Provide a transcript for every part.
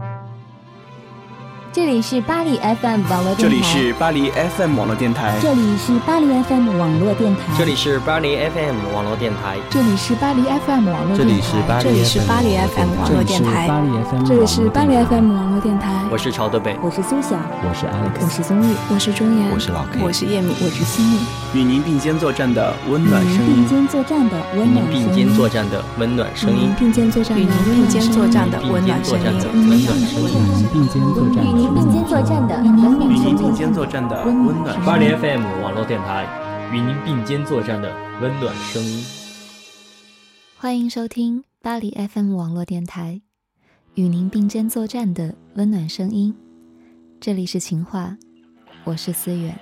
这里是巴黎 FM 网络电台， 这里是巴黎 FM 网络电台， 这里是巴黎 FM 网络电台， 这里是巴黎 FM 网络电台， 这里是巴黎 FM 网络电台， 这里是巴黎 FM 网络电台， 这里是巴黎 FM 网络电台。 我是曹德北， 我是苏晓， 我是 Alex， 我是宗玉， 我是钟岩， 我是老 K， 我是叶敏， 我是西米。 与您并肩作战的温暖声音， 并肩作战的温暖声音， 并肩作战的温暖声音， 并肩作战的并肩作战的温暖声音， 并肩作战， 与您并肩作战的与您并肩作战的温暖声音。 巴黎 FM 网络电台，与您并肩作战的温暖声音。 欢迎收听巴黎 FM 网络电台，与您并肩作战的温暖声音。这里是情话，我是思远。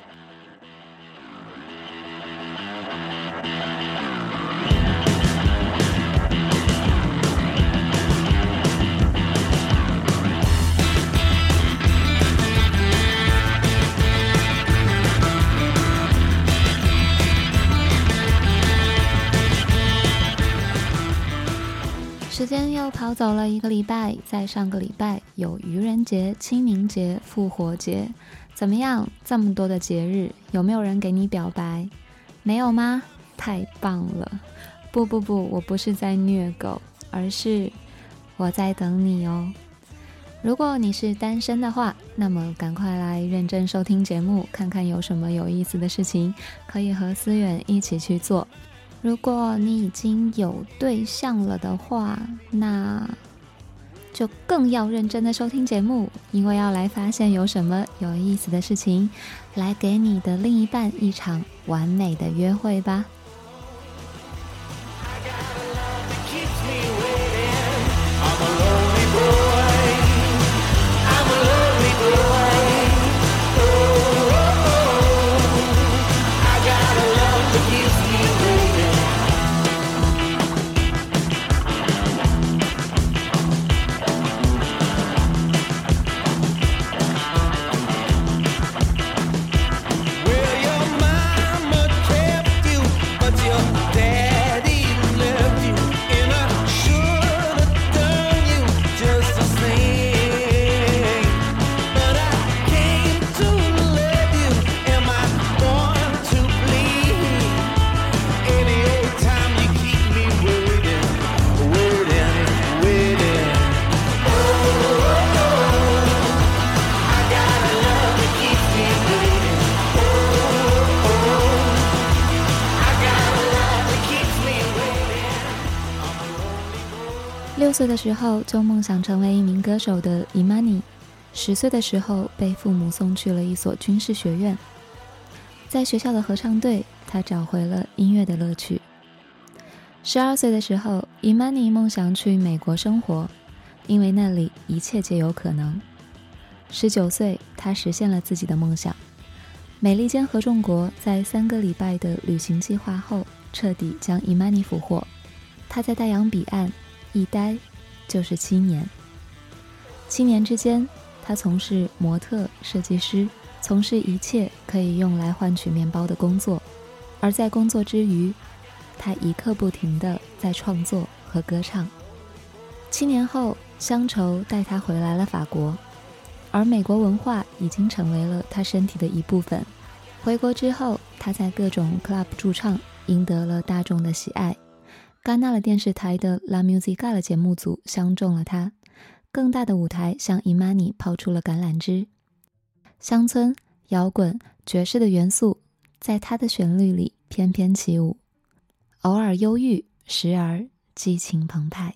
时间又跑走了一个礼拜，在上个礼拜有愚人节、清明节、复活节，怎么样？这么多的节日，有没有人给你表白？没有吗？太棒了！不，我不是在虐狗，而是我在等你哦。如果你是单身的话，那么赶快来认真收听节目，看看有什么有意思的事情可以和思远一起去做。如果你已经有对象了的话，那就更要认真的收听节目，因为要来发现有什么有意思的事情，来给你的另一半一场完美的约会吧。6岁的时候就梦想成为一名歌手的 Imani，10岁的时候被父母送去了一所军事学院，在学校的合唱队，他找回了音乐的乐趣。12岁的时候 Imani 梦想去美国生活，因为那里一切皆有可能。19岁他实现了自己的梦想，美利坚合众国在3个礼拜的旅行计划后彻底将 Imani 俘获，他在大洋彼岸一待就是7年。7年之间，他从事模特、设计师，从事一切可以用来换取面包的工作。而在工作之余，他一刻不停地在创作和歌唱。7年后，乡愁带他回来了法国，而美国文化已经成为了他身体的一部分。回国之后，他在各种 club 驻唱，赢得了大众的喜爱。戛纳了电视台的 La Musica 的节目组相中了他，更大的舞台向 Imani 抛出了橄榄枝。乡村、摇滚、爵士的元素在他的旋律里翩翩起舞，偶尔忧郁，时而激情澎湃。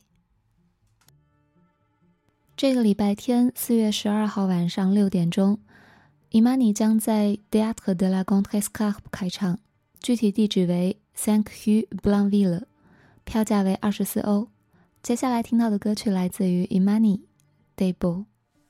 这个礼拜天4月12号晚上6点钟， Imani 将在 Théâtre de la Contrescarpe 开唱，具体地址为5 Rue Blainville，票价为24欧。接下来听到的歌曲来自于 Imani， T'es beau。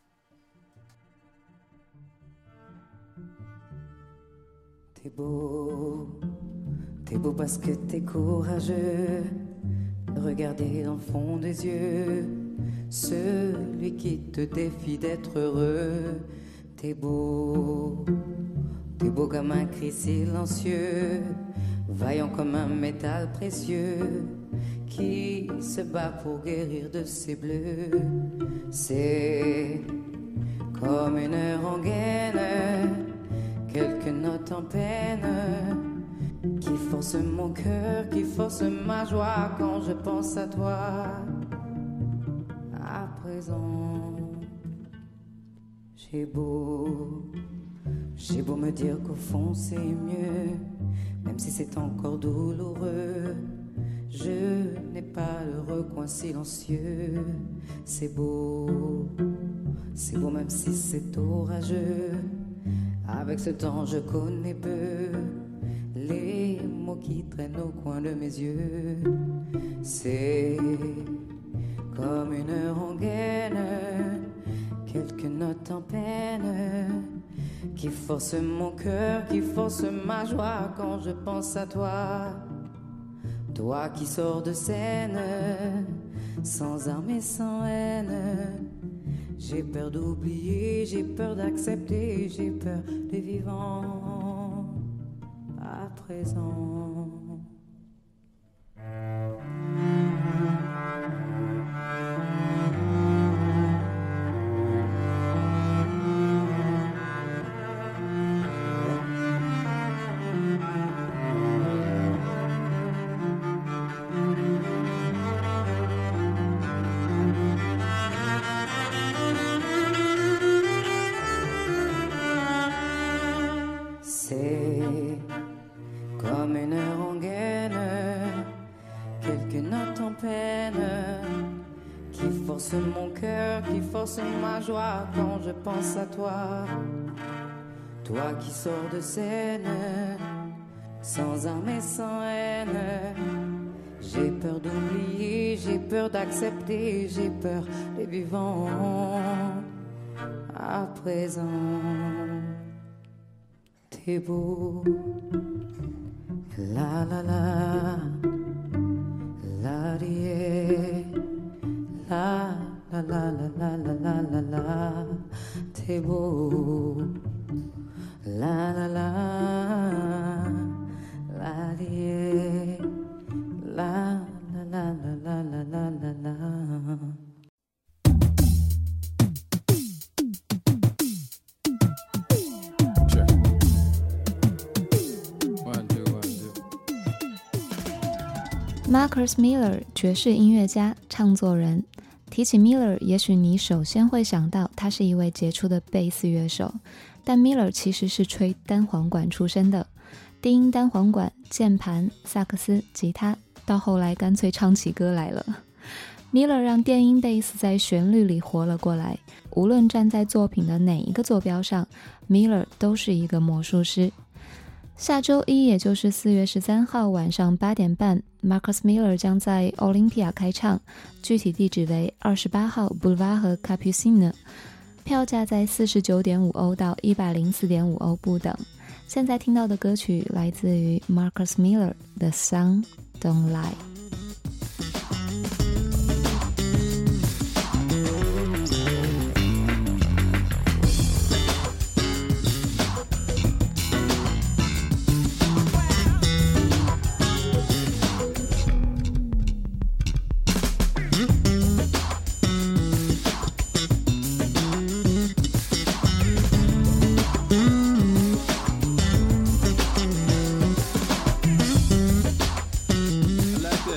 T'es beau, t'es beau parce que t'es courageux, regardez dans le fond des yeux celui qui te défie d'être heureux. T'es beau comme un cri silencieux vaillant comme un métal précieux qui se bat pour guérir de ses bleus. C'est comme une rengaine, quelques notes en peine qui forcent mon cœur, qui forcent ma joie quand je pense à toi. À présent, j'ai beau me dire qu'au fond c'est mieux, même si c'est encore douloureux. Je n'ai pas le recoin silencieux. C'est beau même si c'est orageux. Avec ce temps je connais peu les mots qui traînent au coin de mes yeux. C'est comme une rengaine, quelques notes en peine qui forcent mon cœur, qui forcent ma joie quand je pense à toi. Toi qui sors de scène, sans armes et sans haine. J'ai peur d'oublier, j'ai peur d'accepter, j'ai peur des vivants à présent. C'est comme une rengaine, quelques notes en peine qui forcent mon cœur, qui forcent ma joie quand je pense à toi. Toi qui sors de scène, sans armes et sans haine. J'ai peur d'oublier, j'ai peur d'accepter, j'ai peur des vivants à présent. T'es beau, la la la, la die, la la la la la la la la. T'es beau, la la la, la die, la la la la la la la la. Marcus Miller 爵士音乐家、唱作人。提起 Miller， 也许你首先会想到他是一位杰出的贝斯乐手，但 Miller 其实是吹单簧管出身的，低音单簧管、键盘、萨克斯、吉他，到后来干脆唱起歌来了。Miller 让电音贝斯在旋律里活了过来，无论站在作品的哪一个坐标上， Miller 都是一个魔术师。下周一，也就是4月13号晚上8点半 Marcus Miller 将在 Olympia 开唱，具体地址为28号 Boulevard 和 Capucine， 票价在49.5欧到104.5欧不等。现在听到的歌曲来自于 Marcus Miller The Sun Don't Lie。 like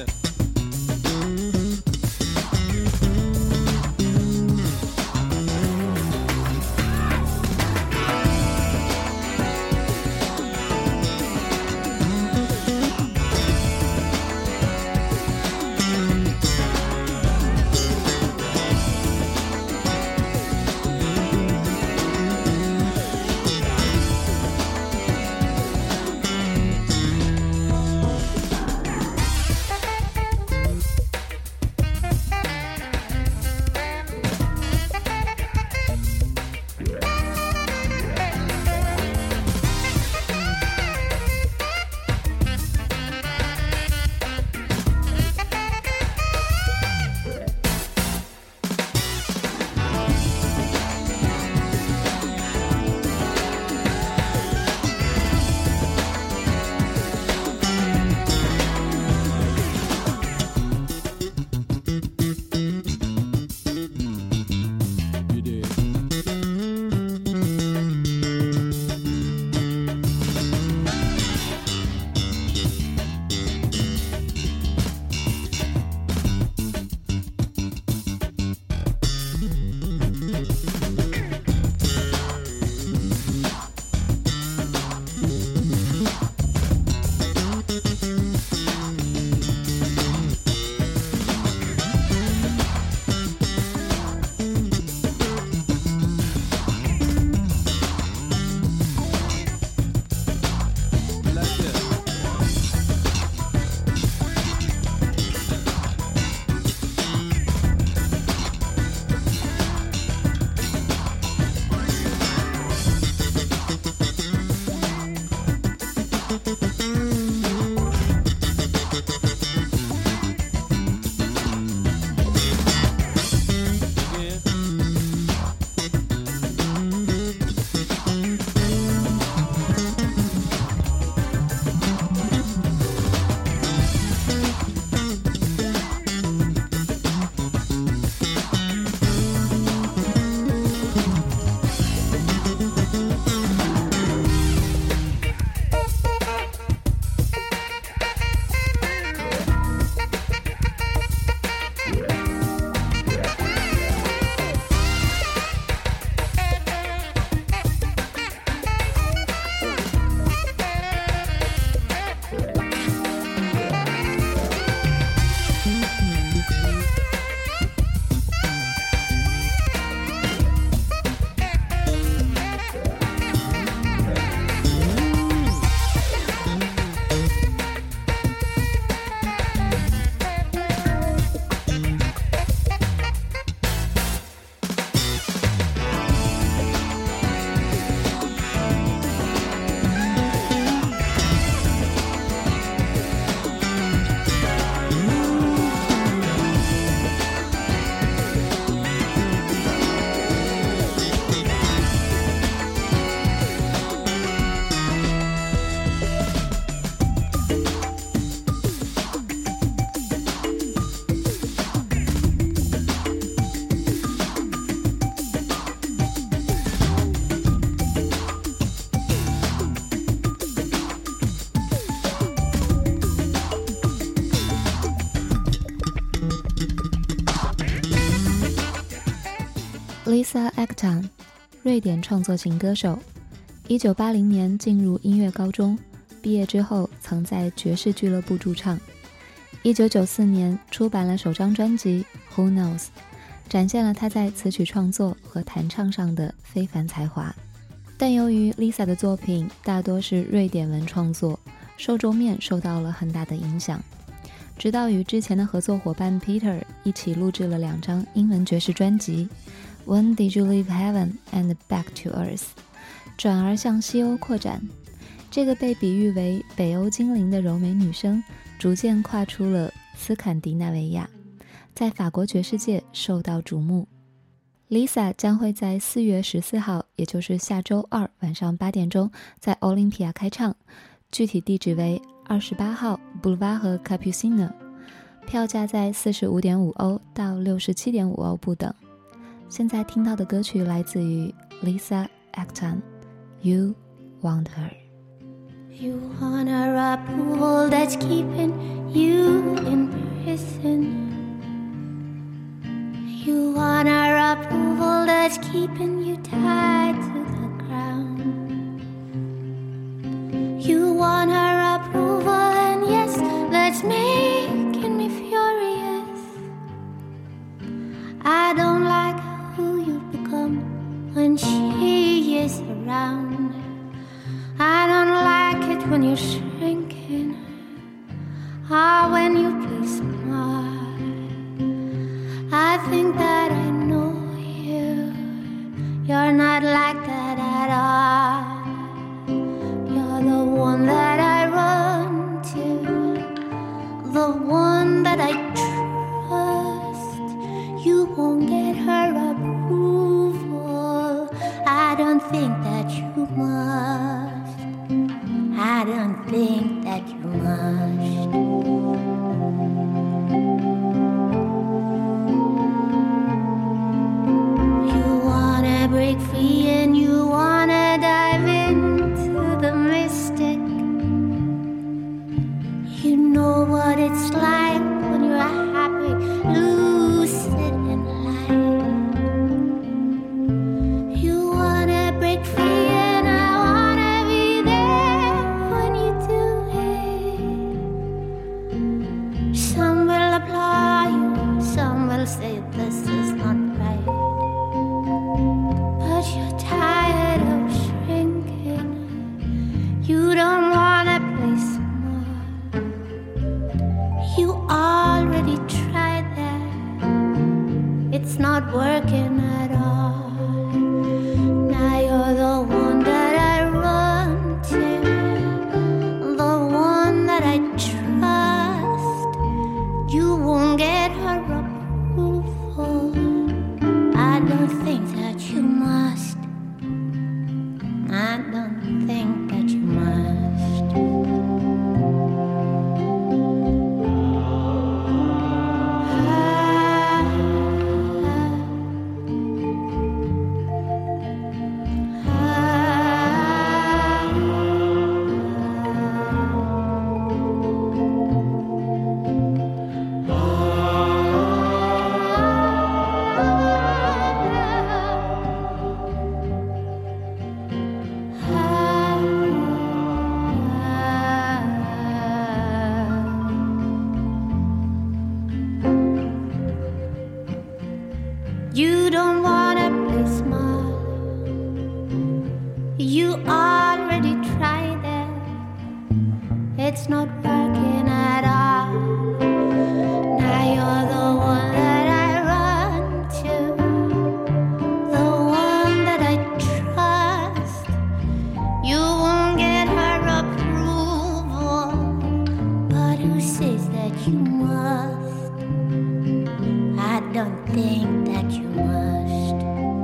Lisa Ektan， 瑞典创作型歌手，1980年进入音乐高中，毕业之后曾在爵士俱乐部驻唱。1994年出版了首张专辑 Who Knows， 展现了他在词曲创作和弹唱上的非凡才华。但由于 Lisa 的作品大多是瑞典文创作，受众面受到了很大的影响，直到与之前的合作伙伴 Peter 一起录制了2张英文爵士专辑 When Did You Leave Heaven and Back to Earth， 转而向西欧扩展。这个被比喻为北欧精灵的柔美女声逐渐跨出了斯堪的纳维亚，在法国爵士界受到瞩目。Lisa 将会在4月14号，也就是下周2晚上8点钟在奥林匹亚开唱，具体地址为28号 Boulevard 和 Capucine， 票价在45.5欧到67.5欧不等。现在听到的歌曲来自于 Lisa Ektan， You Want Her。You want her approval that's keeping you in prison. You want her approval that's keeping you tied to the ground. You want her approval, and yes, that's making me furious. I don't like who you've become when she is around. I don't like it when you're shrinking, when you play smart. I think that I know you. You're not like that at all. You're the one that I run to, the one that I trust. You won't get her approval. I don't think that you must. I don't think that you must. You wanna break free and you wanna dive into the mystic. You know what it's like when you're happy, lucid and light. You wanna break free and I wanna be there when you do it. Some will applaud you, some will say this is not right. But you're tired of shrinking. You don't wanna play smart. You already tried that. It's not working at all. Now you're the one that I run to, the one that I trust. You won't get her approval. I don't think that you must. I don't think that you must. You don't wanna play smart. You already tried that. It's not working at all. Now you're the one that I run to, the one that I trust. You won't get her approval, but who says that you must? I don't think that you must.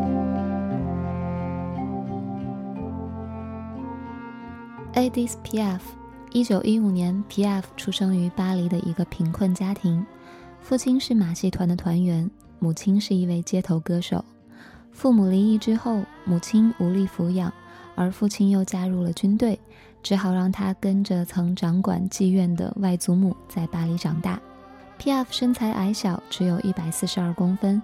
Edith Piaf， 1915年 Piaf 出生于巴黎的一个贫困家庭，父亲是马戏团的团员，母亲是一位街头歌手。父母离异之后，母亲无力抚养，而父亲又加入了军队，只好让他跟着曾掌管妓院的外祖母在巴黎长大。Piaf 身材矮小，只有142公分，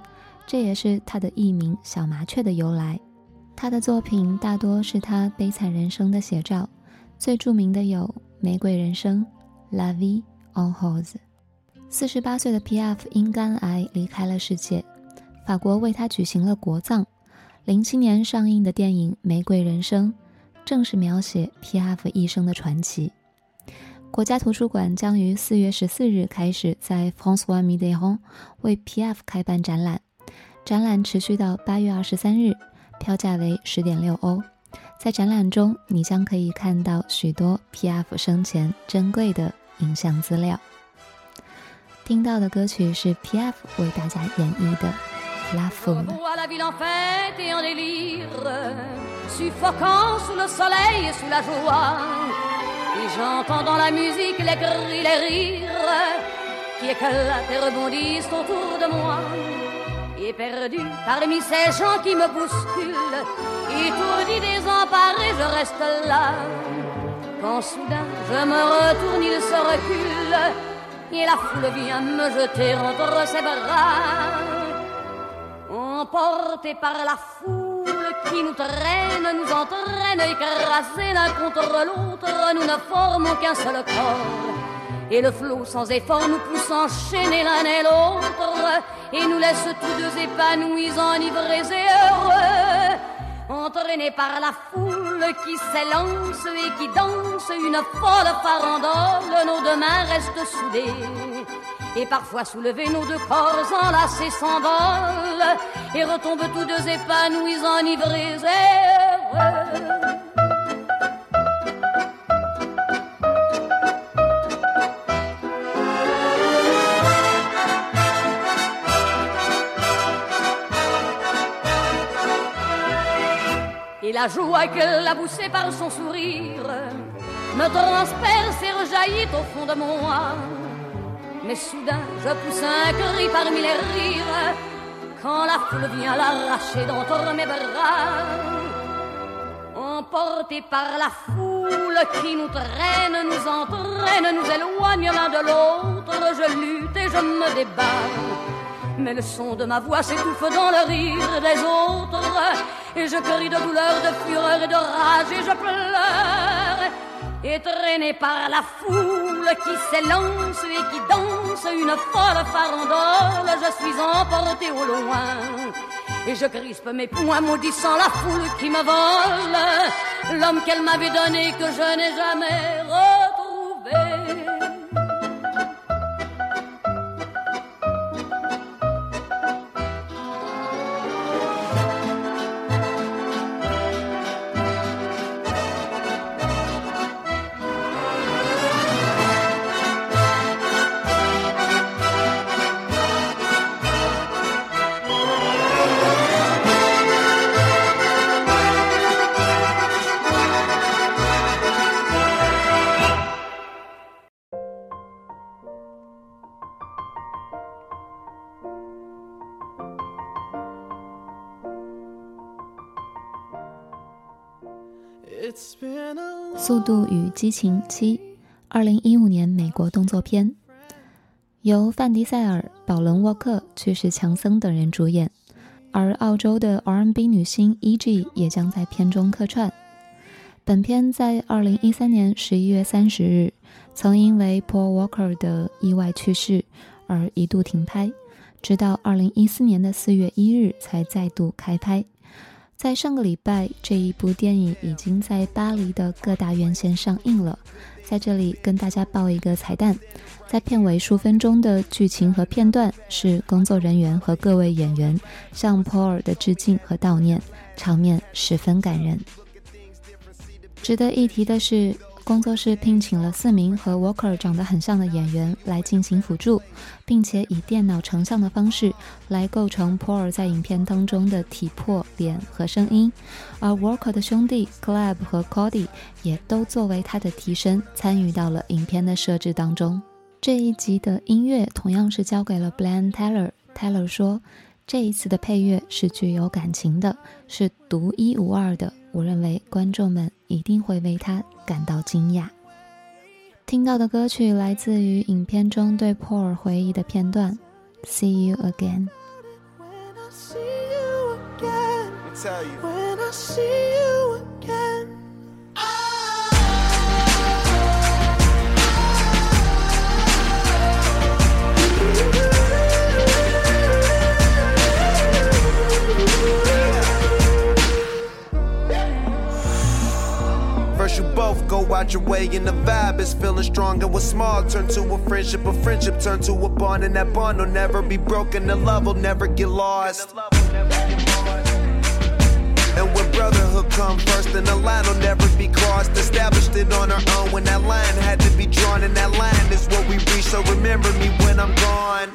这也是他的艺名小麻雀的由来。他的作品大多是他悲惨人生的写照，最著名的有玫瑰人生 La vie en rose。 48岁的 Piaf 因肝癌离开了世界，法国为他举行了国葬。07年上映的电影《玫瑰人生》正是描写 Piaf 一生的传奇。国家图书馆将于4月14日开始在 François Mitterrand 为 Piaf 开办展览，展览持续到8月23日，票价为10.6欧。在展览中，你将可以看到许多 Piaf 生前珍贵的影像资料。听到的歌曲是 Piaf 为大家演绎的La Foule。 La ville en fête et en délire, suffoquant sous le soleil et sous la joie. Et j'entends dans la musique les cris, les rires qui éclatent et rebondissent autour de moi. Et perdu parmi ces gens qui me bousculent, étourdi, désemparé, je reste là. Quand soudain je me retourne, il se recule, et la foule vient me jeter entre ses bras. Emportés par la foule qui nous traîne, nous entraîne, écrasés l'un contre l'autre, nous ne formons qu'un seul corps. Et le flot sans effort nous pousse enchaîner l'un et l'autre, et nous laisse tous deux épanouis, enivrés et heureux. Entraînés par la foule qui s'élance et qui danse une folle farandole, nos deux mains restent soudées. Et parfois soulevés, nos deux corps enlacés s'envolent et retombent tous deux épanouis, enivrés et heureux. Et la joie qu'elle a poussée par son sourire me transperce et rejaillit au fond de moi. Mais soudain je pousse un cri parmi les rires quand la foule vient l'arracher d'entre mes bras. Emportés par la foule qui nous traîne, nous entraîne, nous éloigne l'un de l'autre, je lutte et je me débat. Mais le son de ma voix s'étouffe dans le rire des autres, et je crie de douleur, de fureur et de rage, et je pleure. Et traîné par la foule qui s'élance et qui danse une folle farandole, je suis emporté au loin. Et je crispe mes poings maudissant la foule qui me vole l'homme qu'elle m'avait donné, que je n'ai jamais retrouvé. 《速度与激情7》2015年美国动作片，由范迪塞尔、保伦沃克、去世强森等人主演，而澳洲的 R&B 女星 E.G 也将在片中客串。本片在2013年11月30日曾因为 Paul Walker 的意外去世而一度停拍，直到2014年的4月1日才再度开拍。在上个礼拜，这一部电影已经在巴黎的各大院线上映了。在这里跟大家爆一个彩蛋，在片尾数分钟的剧情和片段是工作人员和各位演员向 Paul 的致敬和悼念，场面十分感人。值得一提的是，工作室聘请了4名和 Walker 长得很像的演员来进行辅助，并且以电脑成像的方式来构成 Paul 在影片当中的体魄、脸和声音，而 Walker 的兄弟 Caleb 和 Cody 也都作为他的替身参与到了影片的设置当中。这一集的音乐同样是交给了 Brian Tyler 说，这一次的配乐是具有感情的，是独一无二的，我认为观众们一定会为他感到惊讶。听到的歌曲来自于影片中对 Paul 回忆的片段 See you again。 tell you. When I see you again. First you both go out your way and the vibe is feeling strong, and what's small turn to a friendship turn to a bond, and that bond will never be broken, the love will never get lost. And when brotherhood come first, then the line will never be crossed. Established it on our own when that line had to be drawn, and that line is what we reach, so remember me when I'm gone.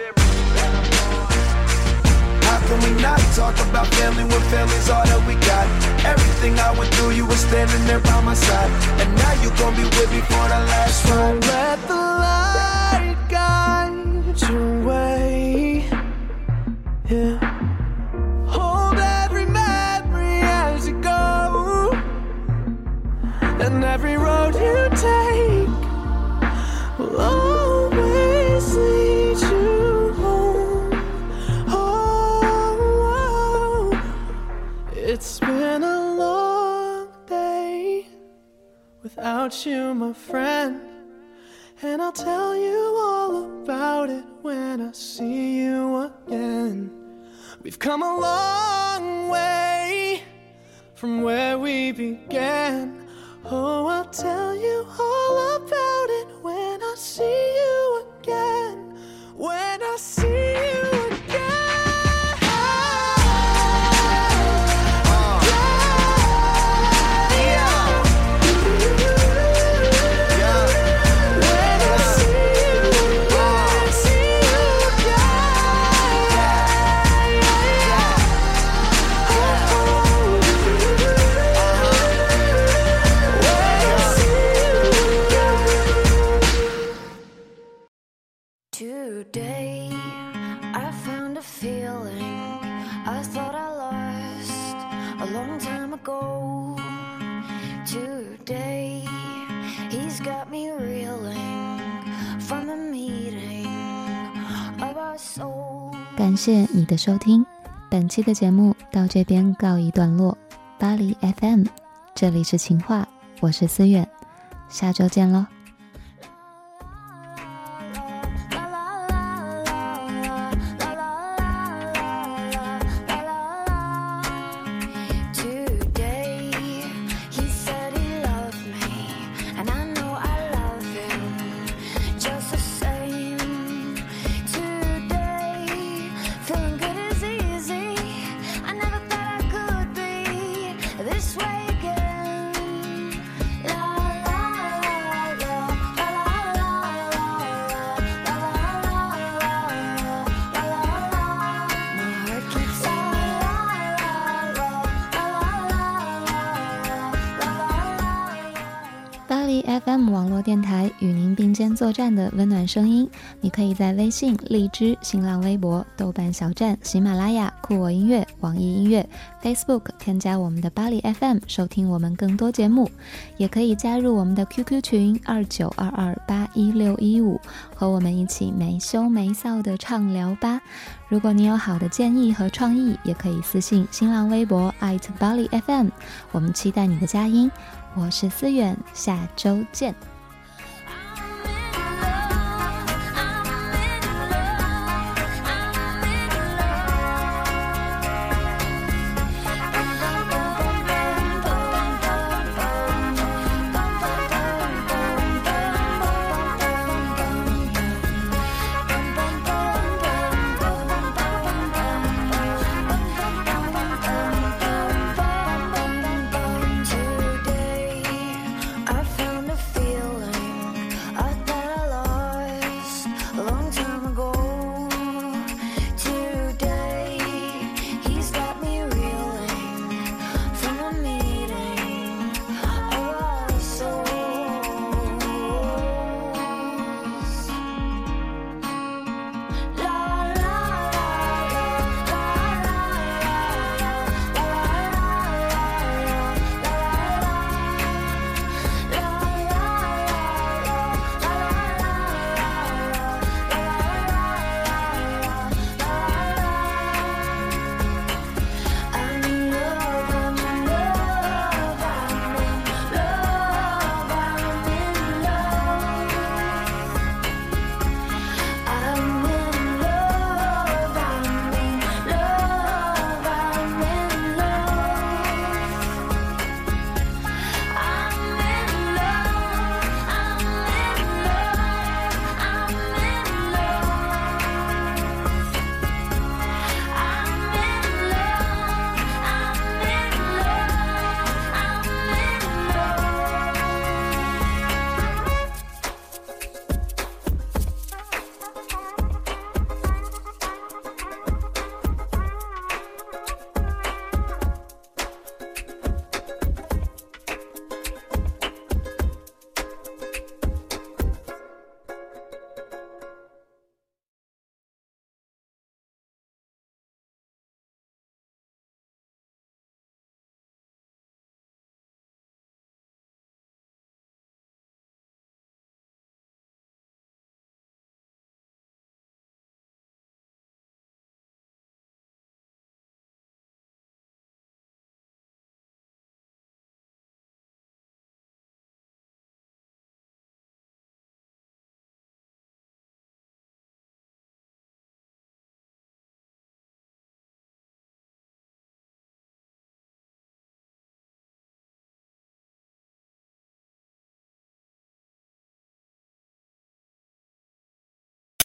How can we not talk about family when family's all that we got? Everything I went through, you were standing there by my side, and now you gon' be with me for the last ride. So let the light guide your way. Yeah. Hold every memory as you go, and every road you take will always lead you home. Oh, it's been a long day without you, my friend, and I'll tell you all about it when I see you again. We've come a long way from where we began. Oh, I'll tell you all about it when I see you again. When I see you again. Today, I found a feeling I thought I lost a long time ago. Today, he's got me reeling from the meeting of our soul. 感谢你的收听，本期的节目到这边告一段落。巴黎 FM， 这里是情话，我是思远，下周见咯。FM 网络电台与您并肩作战的温暖声音，你可以在微信、荔枝、新浪微博、豆瓣小站、喜马拉雅、酷我音乐、网易音乐、Facebook 添加我们的巴黎 FM 收听我们更多节目，也可以加入我们的 QQ 群2922811615，和我们一起没羞没臊的畅聊吧。如果你有好的建议和创意，也可以私信新浪微博巴黎 FM， 我们期待你的佳音。我是思远，下周见。